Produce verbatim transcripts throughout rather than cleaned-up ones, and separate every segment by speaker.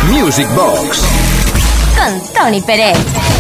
Speaker 1: Music Box
Speaker 2: con Tony Pérez.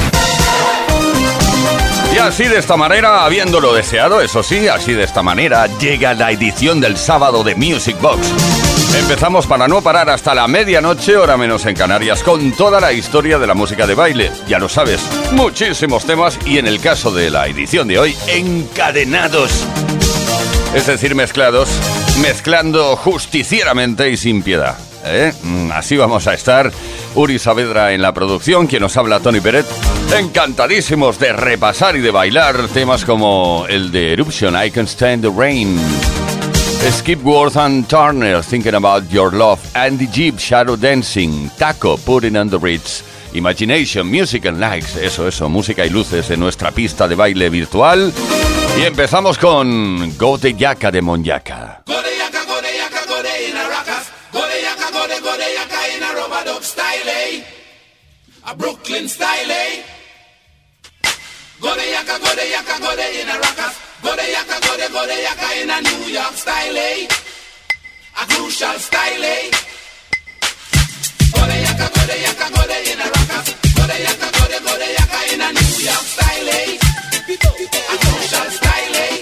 Speaker 3: Y así de esta manera, habiéndolo deseado, eso sí, así de esta manera llega la edición del sábado de Music Box. Empezamos para no parar hasta la medianoche, hora menos en Canarias, con toda la historia de la música de baile. Ya lo sabes, muchísimos temas y en el caso de la edición de hoy, encadenados. Es decir, mezclados, mezclando justicieramente y sin piedad. ¿Eh? Así vamos a estar. Uri Saavedra en la producción, quien nos habla, Tony Peret. Encantadísimos de repasar y de bailar temas como el de Eruption, I Can't Stand the Rain, Skipworth and Turner, Thinking About Your Love, Andy Gibb, Shadow Dancing, Taco, Putting on the Ritz, Imagination, Music and Lights, eso, eso, música y luces en nuestra pista de baile virtual. Y empezamos con Gode Yaka de Monyaca.
Speaker 4: Gode Yaka, Gode Yaka, Gode in a Rackas. Gode Yaka, Gode, Gode Yaka in a rubber dub style, eh? A Brooklyn style, eh? Gode Yaka, Gode Yaka, Gode in a Rackas. Gode Yaka, Gode, Gode Yaka in a New York style, eh? A Crucial style, eh? Gode Yaka, Gode Yaka, Gode in a Rackas. Gode Yaka, Gode, Gode Yaka in a New York style, eh? A Crucial style, eh?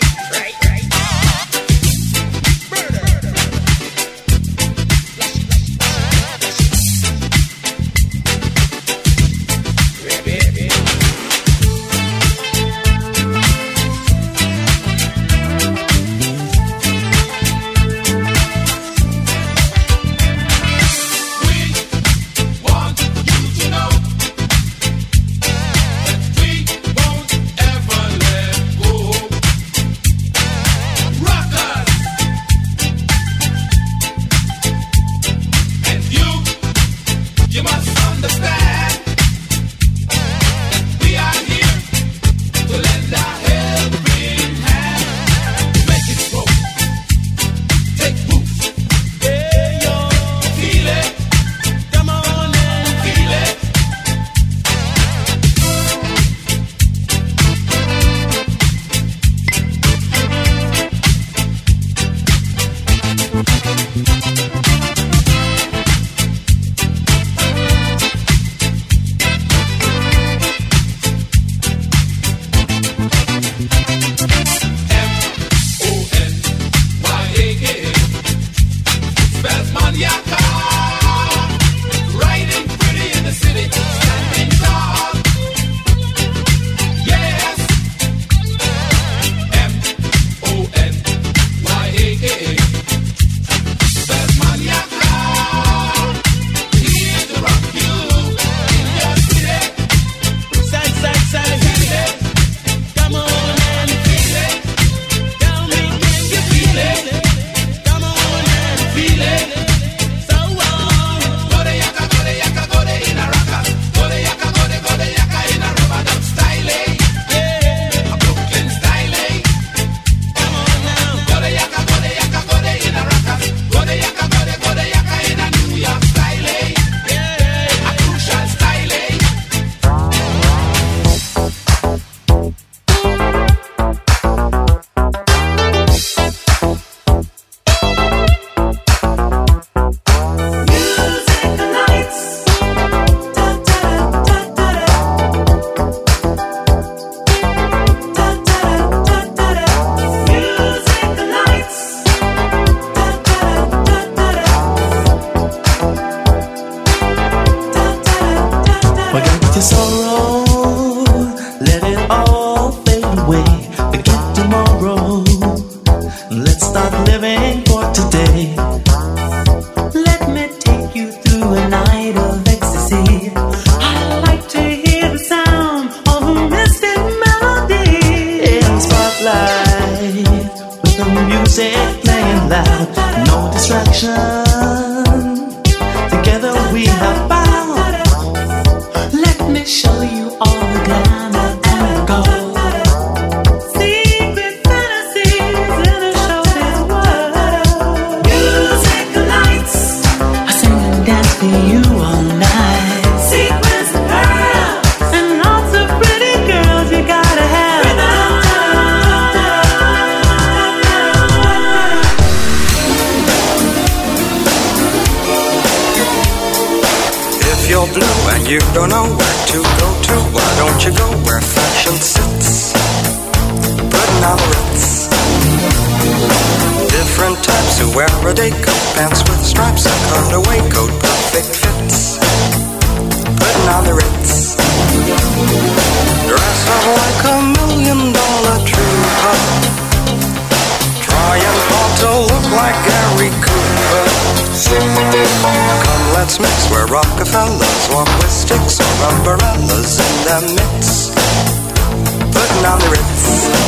Speaker 1: If you're blue and you don't know where to go to, why don't you go where fashion sits? Putting on the Ritz. Different types who wear a day coat, pants with stripes, a cutaway coat, perfect fits. Putting on the Ritz. Dress up like a million dollar trooper, trying hard to look like Gary Cooper. Come, let's mix where Rockefellers walk with sticks or umbrellas in their midst. Putting on the Ritz.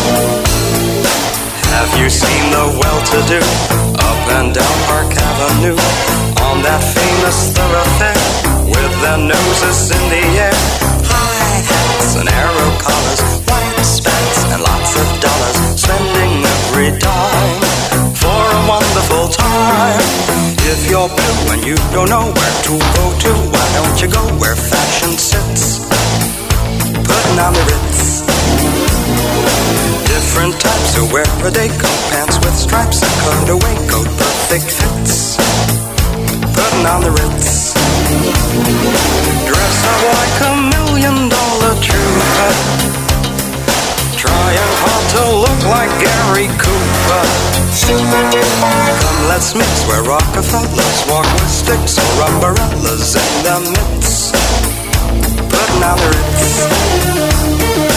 Speaker 1: Have you seen the well-to-do up and down Park Avenue on that famous thoroughfare with their noses in the air? High hats and arrow collars, white spats and lots of dollars, spending every dime for a wonderful time. If you're blue and you don't know where to go to, why don't you go where fashion sits? Putting on the Ritz. Different types who wear a day coat, pants with stripes, a cutaway coat, perfect fits. Putting on the Ritz. Dress up like a million dollar trooper, trying hard to look like Gary Cooper. Come, let's mix where Rockefellers walk with sticks or umbrellas in their midst. Putting on the Ritz.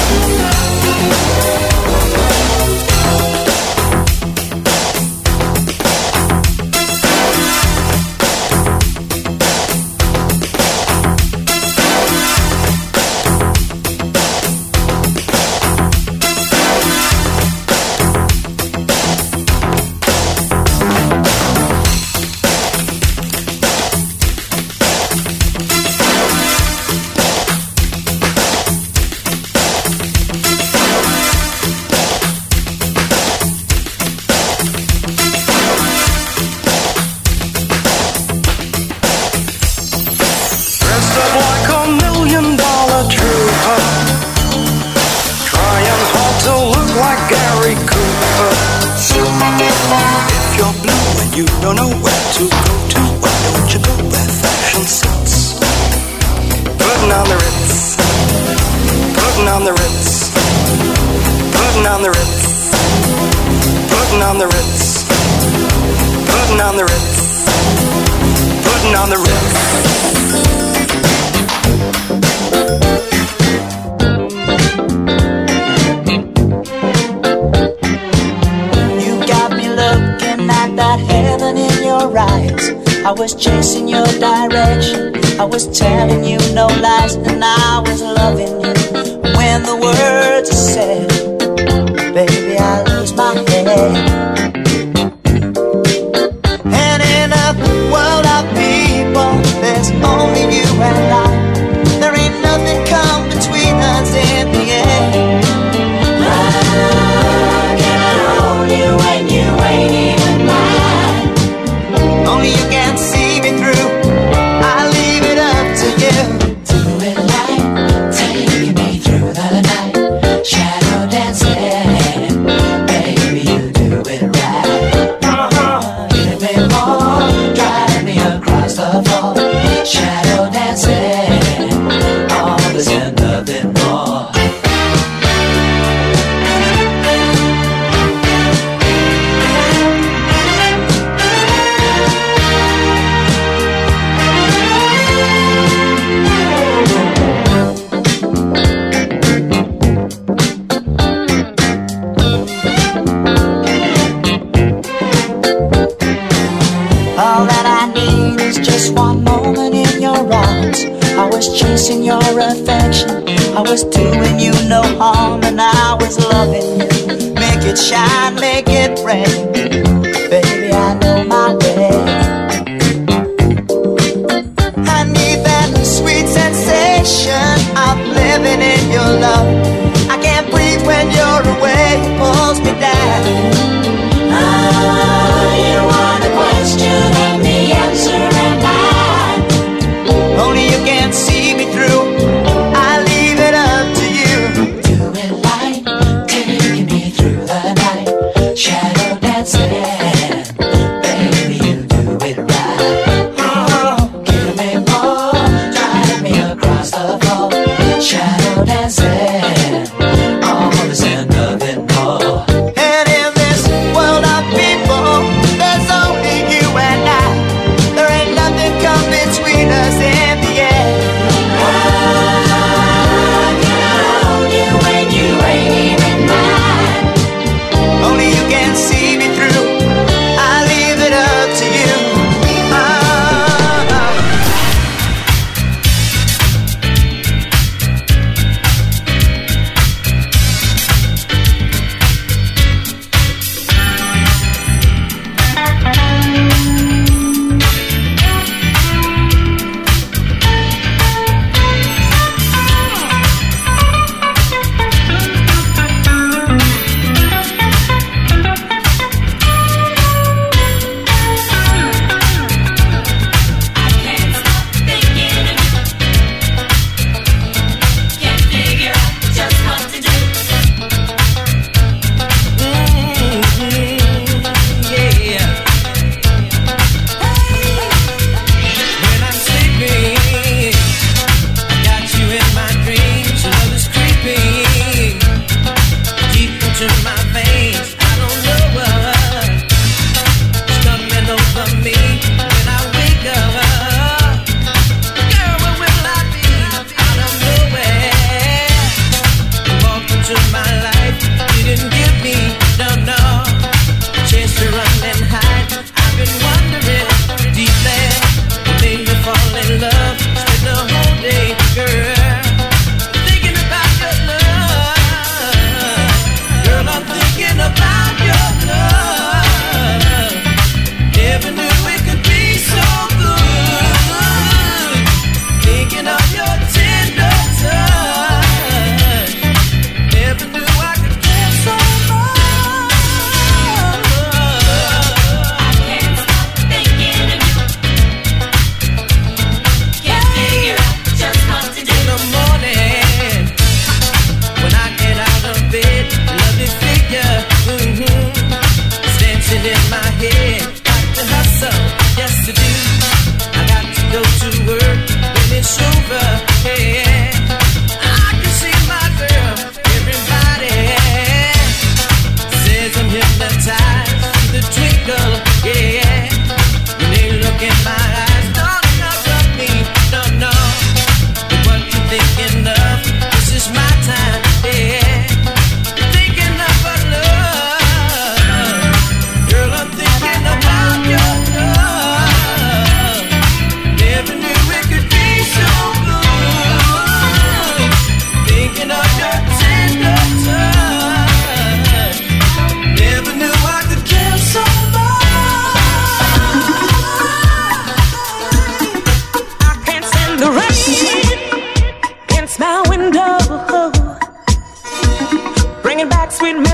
Speaker 5: I was chasing your direction, I was telling you no lies, and I was loving you. When the words are said, baby, I lose my head. And in a world of people, there's only you and I. There ain't nothing come between us in the end. How can I hold you when you ain't even mine? Only you can see me through, I leave it up to you. Do it right, take me through the night, shadow dancing, baby, you do it right. Uh-huh. Give me more, drive me across the floor, shadow dancing, all this and nothing more. All that I need is just one moment in your arms. I was chasing your affection, I was doing you no harm, and I was loving you. Make it shine, make it rain, baby, I know my way. I need that sweet sensation of living in your love. I can't breathe when you're away, it pulls me down. Ah, you want a question and the answer am I. Only you can see me through, I leave it up to you. Do it right, taking me through the night, shadow dancing.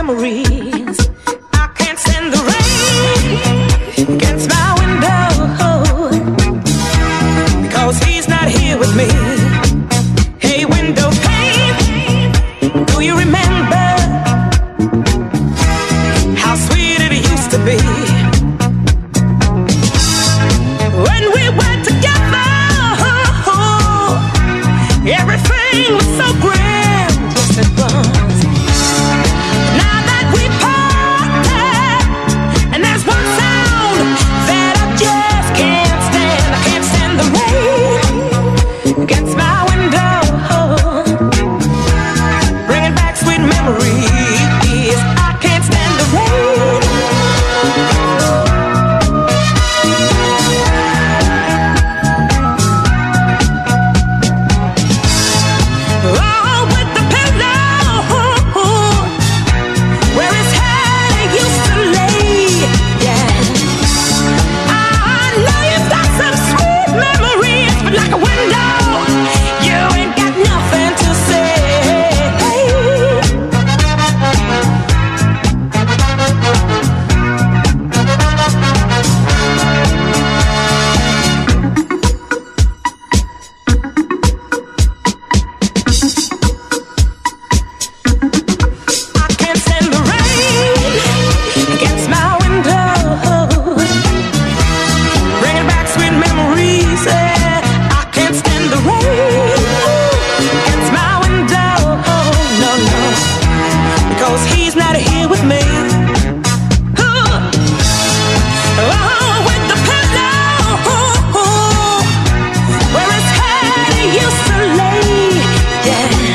Speaker 6: memories. I can't stand the rain against my window, because he's not here with me. Hey, window pane, do you remember how sweet it used to be when we were together? Everything was so grand, yes it was. Now that we parted, and there's one sound that I just can't stand. I can't stand the rain against my window, bringing back sweet memories. I can't stand the rain. Oh, with the pillow where his head used to lay, yeah. I know you've got some sweet memories, but like a window, you ain't got nothing to say. I can't stand the rain against my window, bringing back sweet memories. Yeah. I can't stand the rain against my window, no, no, because he's not here with me. Oh, oh, with the pillow where his head used to lay, yeah.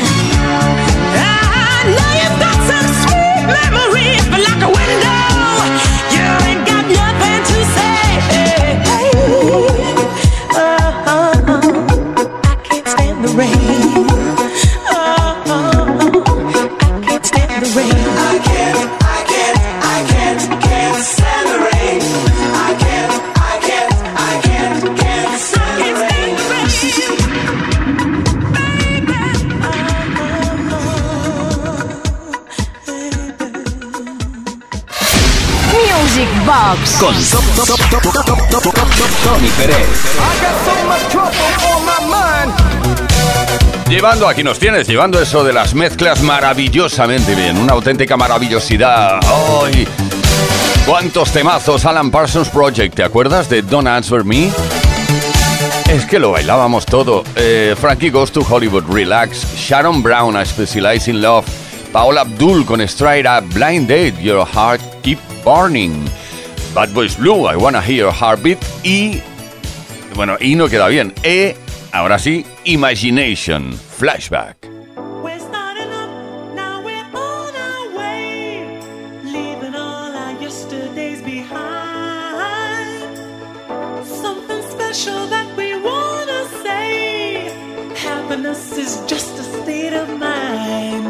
Speaker 6: I know you've got some sweet memories, but like a window, you ain't got nothing to say. Oh, oh, oh, I can't stand the rain. Oh, oh, oh, I can't stand the rain. I can't, I can't, I can't, can't stand the rain. I can't, I can't, I can't, can't stand the rain.
Speaker 2: Music Box
Speaker 7: Con Tony Pérez.
Speaker 3: Llevando, aquí nos tienes, llevando eso de las mezclas maravillosamente bien. Una auténtica maravillosidad. ¡Ay! ¿Cuántos temazos? Alan Parsons Project, ¿te acuerdas de Don't Answer Me? Es que lo bailábamos todo. Eh, Frankie Goes to Hollywood, Relax. Sharon Brown, I Specialize in Love. Paola Abdul con Straight Up. Blind Date, Your Heart Keep Burning. Bad Boys Blue, I Wanna Hear Your Heartbeat. Y, bueno, y no queda bien. E, ahora sí, Imagination, Flashback.
Speaker 6: We're starting up, now we're on our way, leaving all our yesterdays behind. Something special that we wanna say. Happiness is just a state of mind.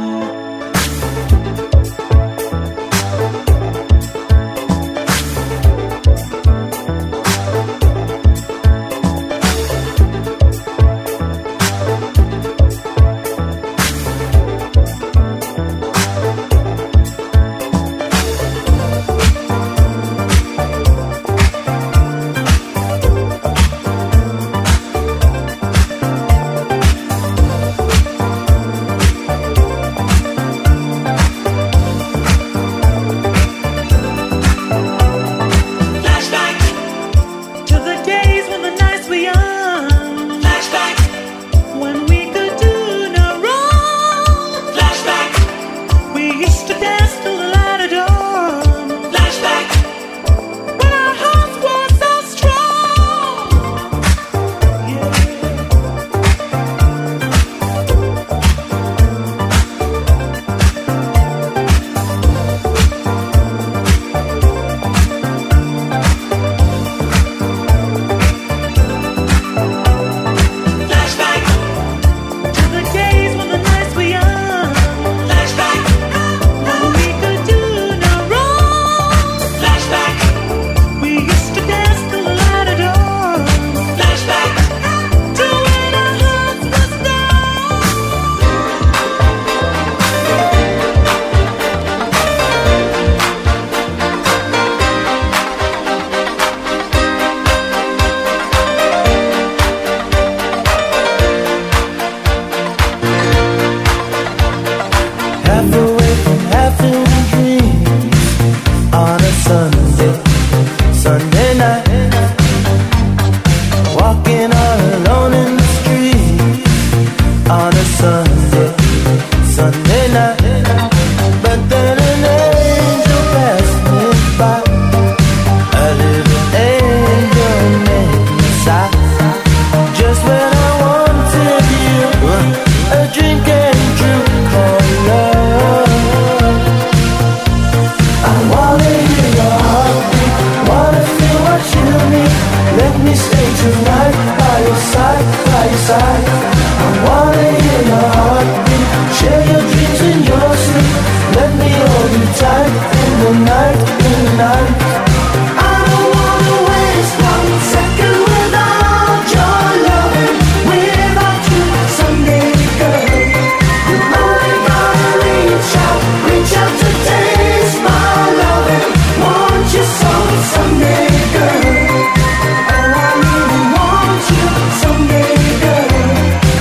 Speaker 7: side. I wanna hear your heartbeat, share your dreams and your sleep. Let me hold you tight in the night, in the night. I don't wanna waste one second without your loving, without you someday, girl. You only gotta reach out, reach out to taste my loving. Want you so someday, girl. Oh, I really want you someday, girl.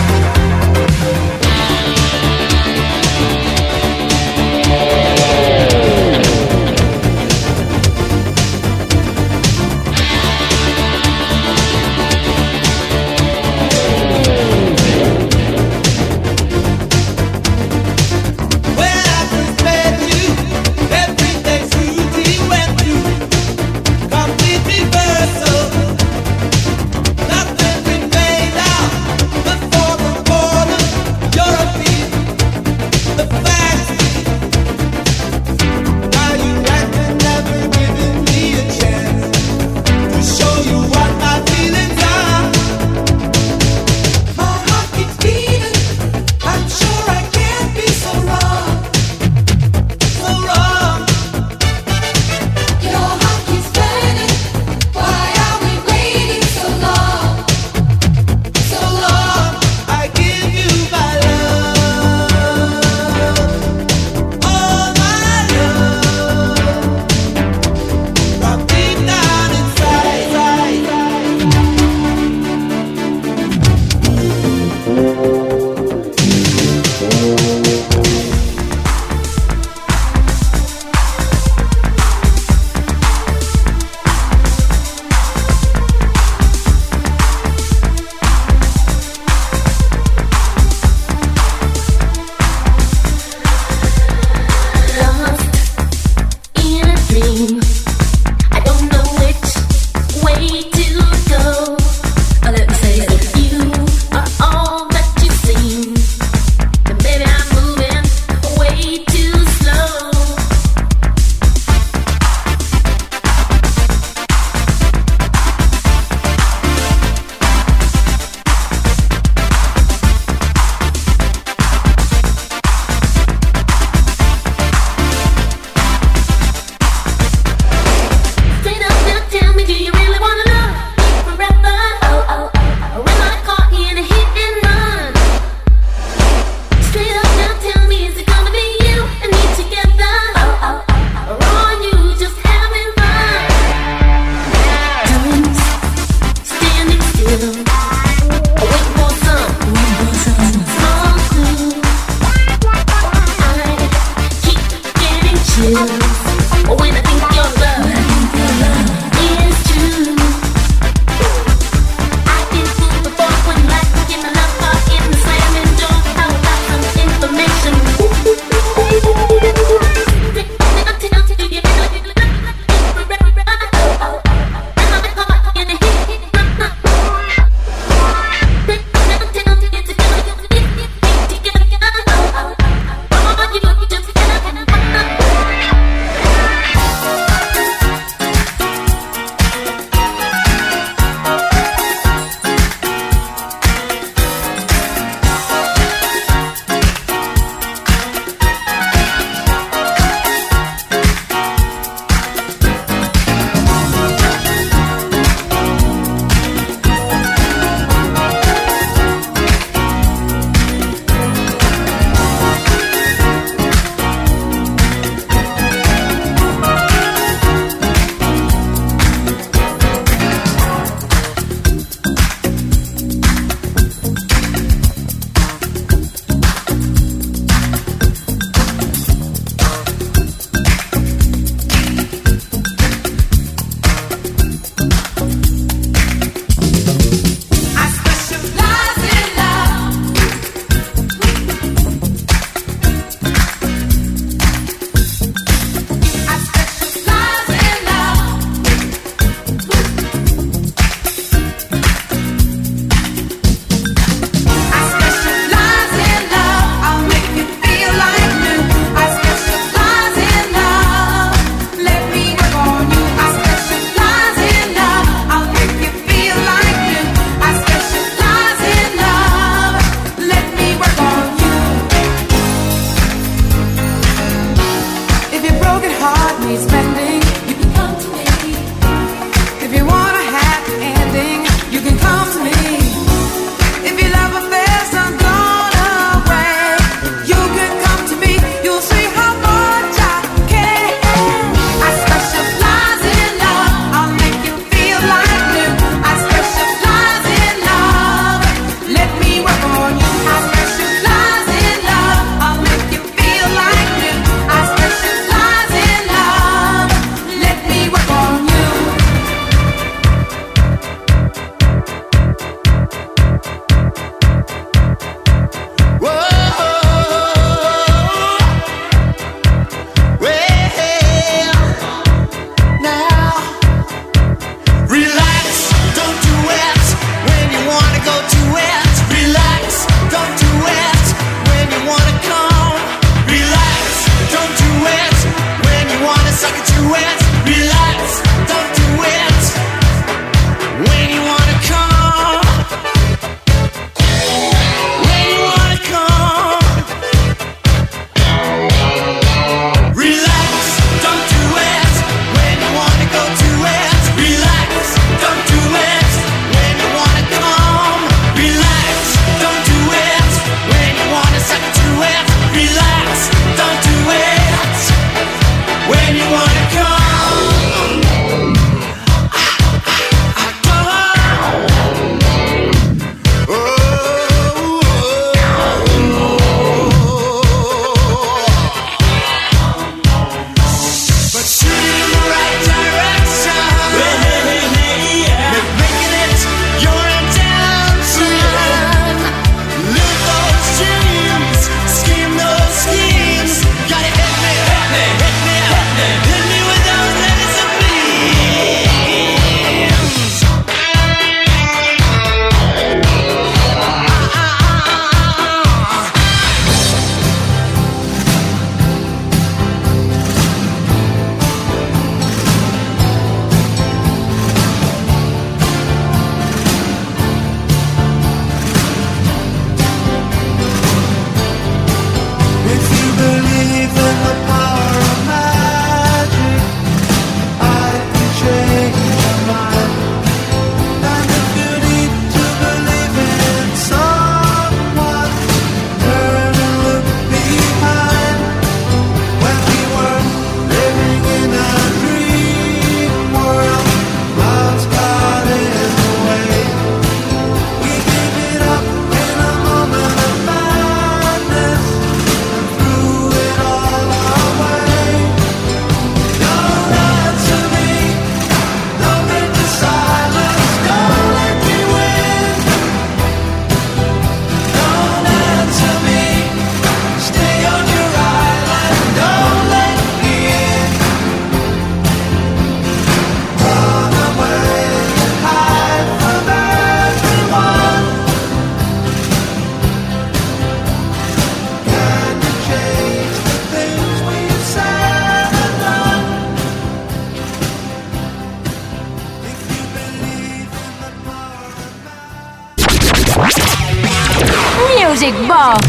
Speaker 2: Music Box.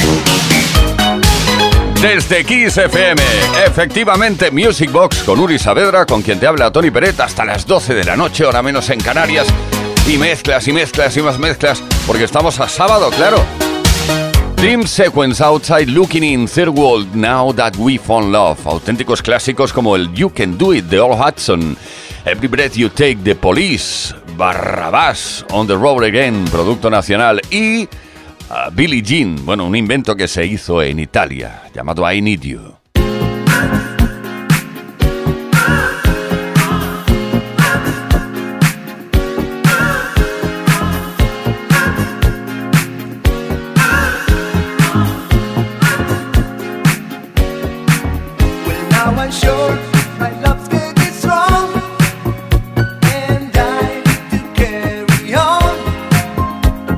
Speaker 3: Desde Kiss F M, efectivamente Music Box con Uri Saavedra, con quien te habla Tony Peret, hasta las doce de la noche, hora menos en Canarias. Y mezclas y mezclas y más mezclas, porque estamos a sábado, claro. Dream Sequence, Outside Looking In, Third World, Now That We Found Love. Auténticos clásicos como el You Can Do It de All Hudson, Every Breath You Take de Police, Barrabás, On The Road Again, producto nacional, y uh, Billie Jean, bueno, un invento que se hizo en Italia, llamado I Need You.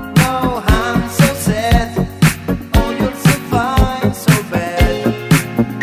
Speaker 7: So sad, oh you're so fine, so bad.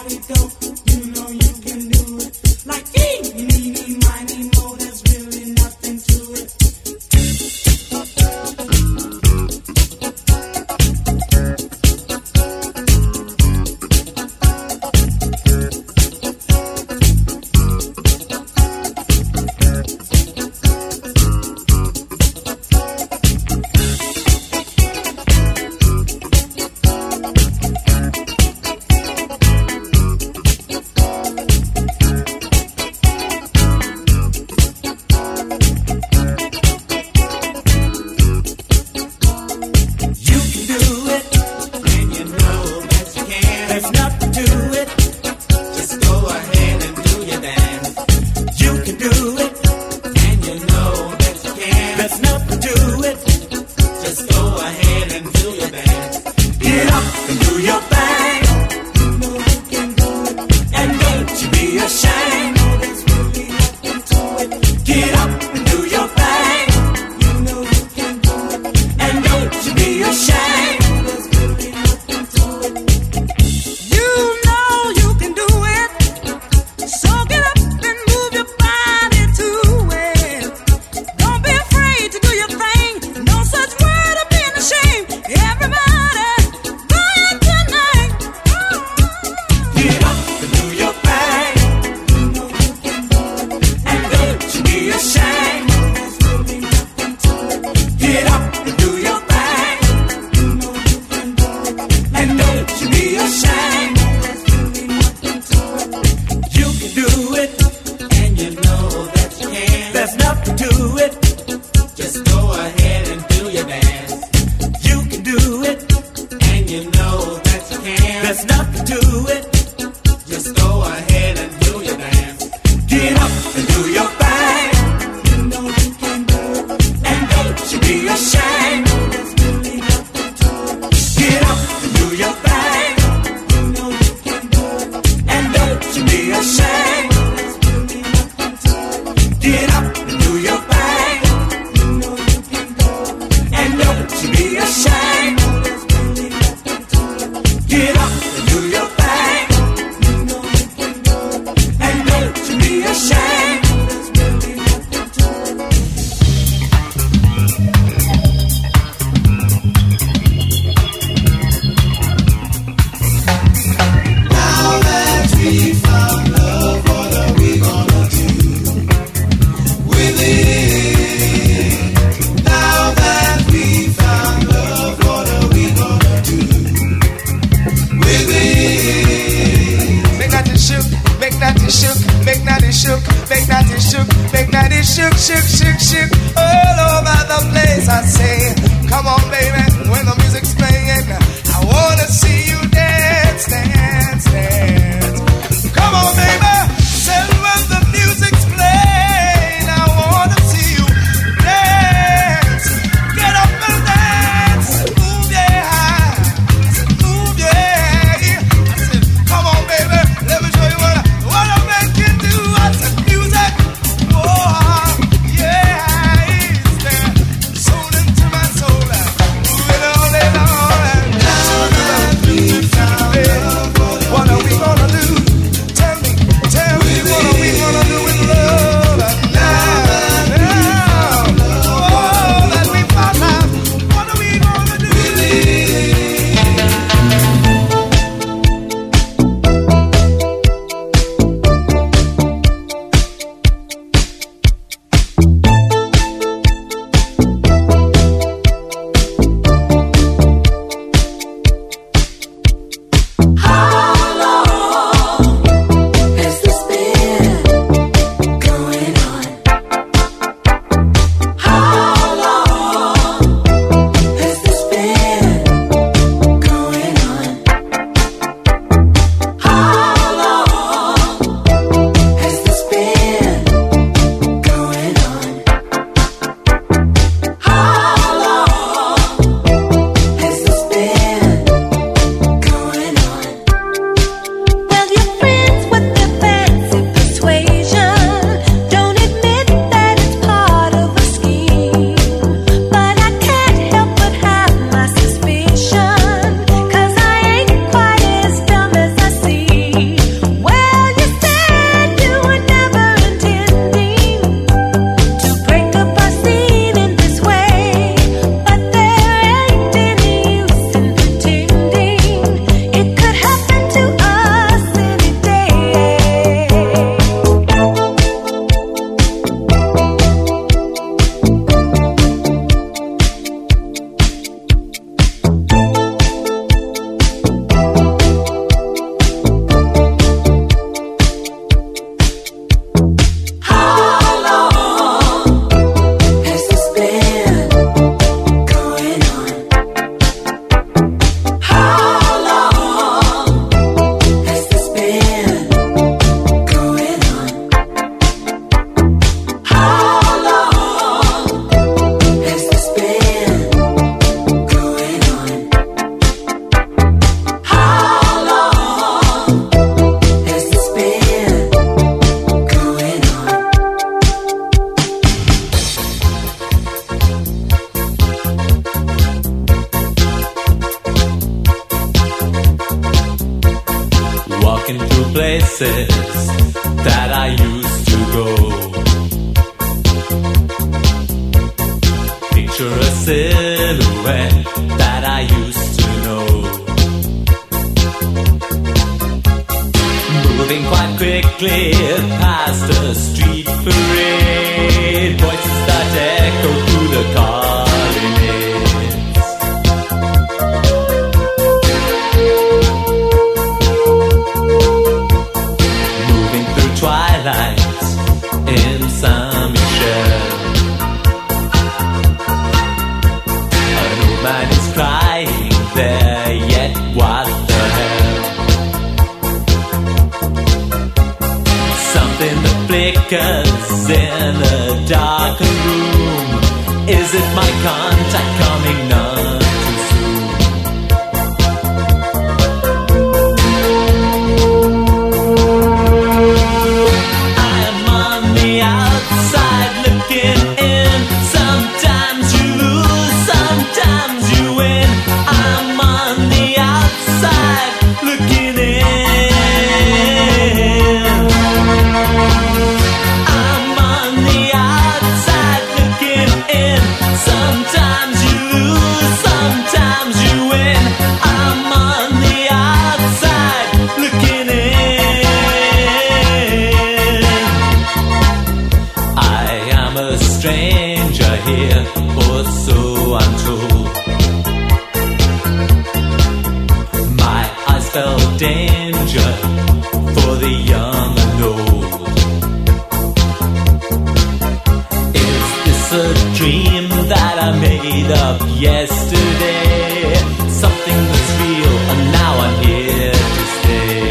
Speaker 8: Yeah. places that I used to go. Picture a silhouette that I used to know, moving quite quickly past a street parade. Voices that echo through the colonnades. Moving through twilight in Saint Michel. An old man is crying there, yet what the hell? Something that flickers in a darkened room. Is it my contact coming none too soon? I am on the outside looking in. Sometimes you lose, sometimes you win. I'm on the outside looking in. I'm on the outside looking in. Sometimes you lose, sometimes you win. I'm on the outside looking in. I am a stranger here, or so I'm told. My eyes felt danger for the young and old. Is this a dream that I made up yesterday? Something that's real and now I'm here to stay.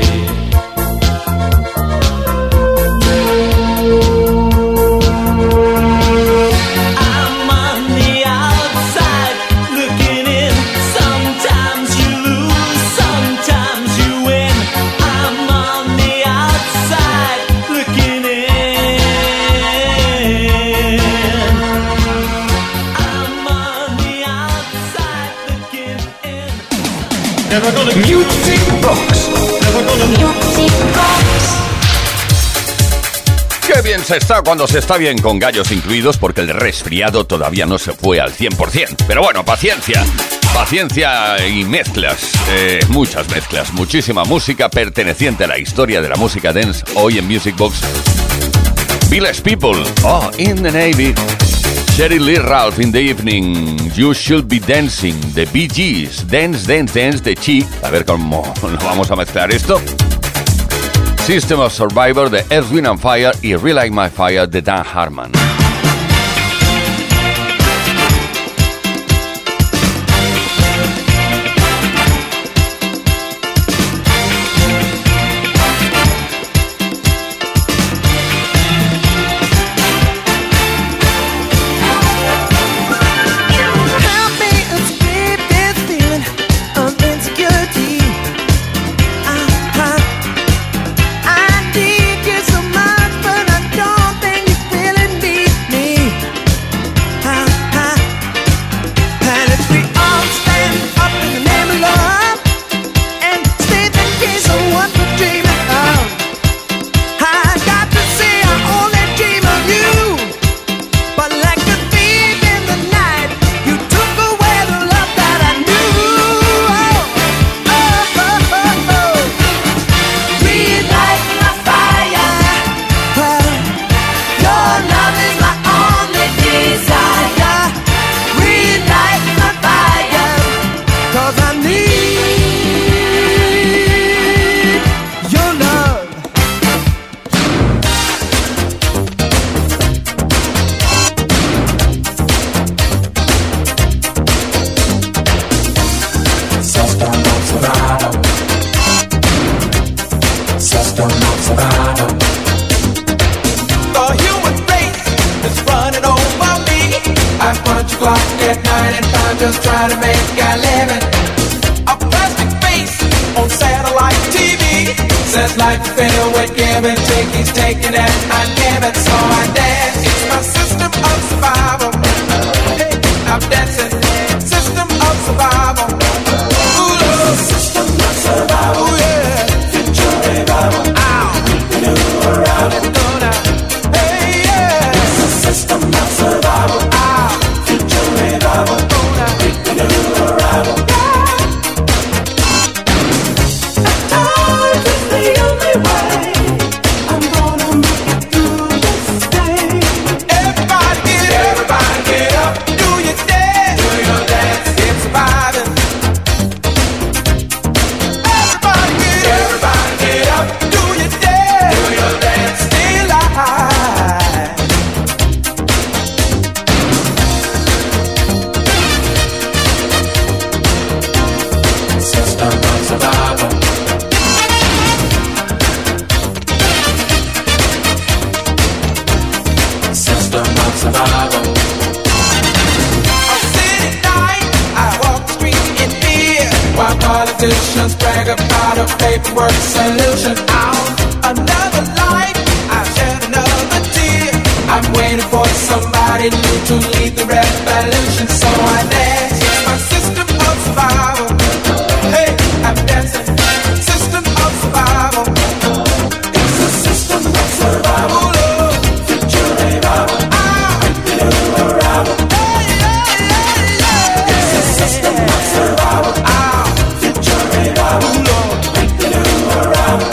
Speaker 8: I'm on the outside looking in. Sometimes you lose, sometimes you win. I'm on the outside looking in. I'm on the outside looking in.
Speaker 9: Never gonna Music Box. Never gonna
Speaker 2: Music Box.
Speaker 3: Qué bien se está cuando se está bien con gallos incluidos, porque el resfriado todavía no se fue al cien por ciento. Pero bueno, paciencia, paciencia y mezclas, eh, muchas mezclas, muchísima música perteneciente a la historia de la música dance hoy en Music Box. Village People, oh, In the Navy, Sherry Lee Ralph, In the Evening, You Should Be Dancing, The Bee Gees, Dance, Dance, Dance, The Chic, a ver cómo lo vamos a mezclar esto. System of Survivor de Earth, Wind and Fire y Relight My Fire de Dan Hartman.
Speaker 5: Help me escape this feeling of insecurity. I, I, I need you so much, but I don't think you really need me. I, I, and if we all stand up in the name of love and state the case of what we're dreaming of, I got to say I only dream of you. But like a thief in the night, you took away the love that I knew. Oh, oh, oh, oh, oh. Relight my fire. Well, your love is my only desire. Relight my fire, 'cause I need your love.
Speaker 7: System of survival. System of survival.
Speaker 4: The human race is running over me. I punch a clock at night and I'm just trying to make a living. A plastic face on satellite T V says life is filled with give and take. He's taking it and giving, so I dance. It's my system of survival. Hey, I'm dancing. System of survival. Ooh, Lord. System of survival. Ooh, yeah. Future revival. Ah. Politicians brag about a paperwork solution. Out another life, I shed another tear. I'm waiting for somebody new to lead the revolution. So I dance, it's my system of survival. Hey, I'm dancing, system of survival. It's a system of survival. Future revival. New arrival. Hey, yeah, yeah, yeah. It's a system of survival. Future revival. New arrival.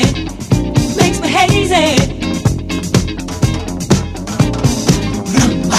Speaker 4: Rumba.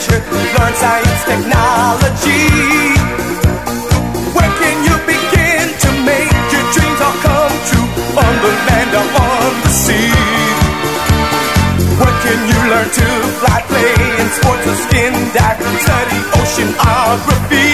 Speaker 10: treasure, learn science, technology. Where can you begin to make your dreams all come true? On the land or on the sea? Where can you learn to fly, play in sports or skin dive, study oceanography?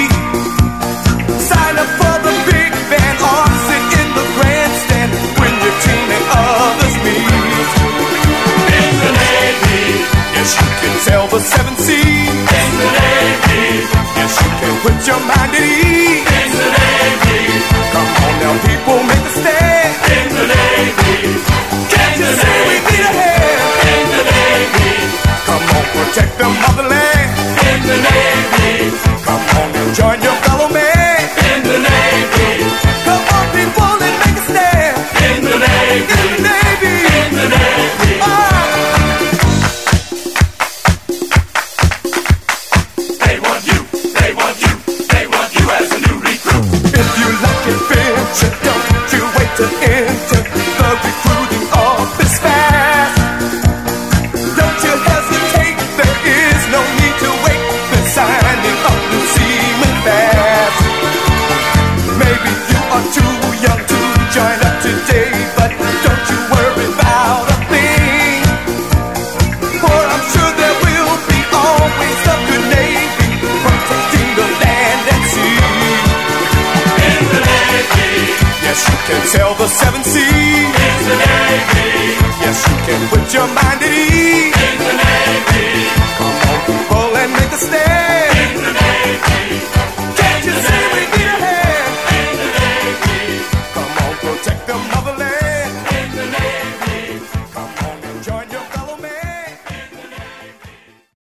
Speaker 10: Sign up for the big band or sit in the grandstand when your team and others meet. In the Navy, yes you can sail the seven seas. In the Navy, yes you can put your mind at ease. In the Navy, come on now people, make a stand. In the Navy, can't you see we need a hand? In the Navy, come on protect the motherland. In the Navy, come on and join your fellow man. In the Navy, come on people and make a stand. In the Navy, in the Navy, in the Navy. Oh. They want you, they want you, they want you as a new recruit. If you like adventure, don't you wait to enter the recruiting office fast. Don't you hesitate, there is no need to wait. They're signing up new seamen fast. Maybe you are too young to join up today, but don't you worry about a thing. For I'm sure there will be always a good Navy protecting the land and sea. In the Navy, yes you can sail the seven seas. In the Navy, yes you can put your mind at ease.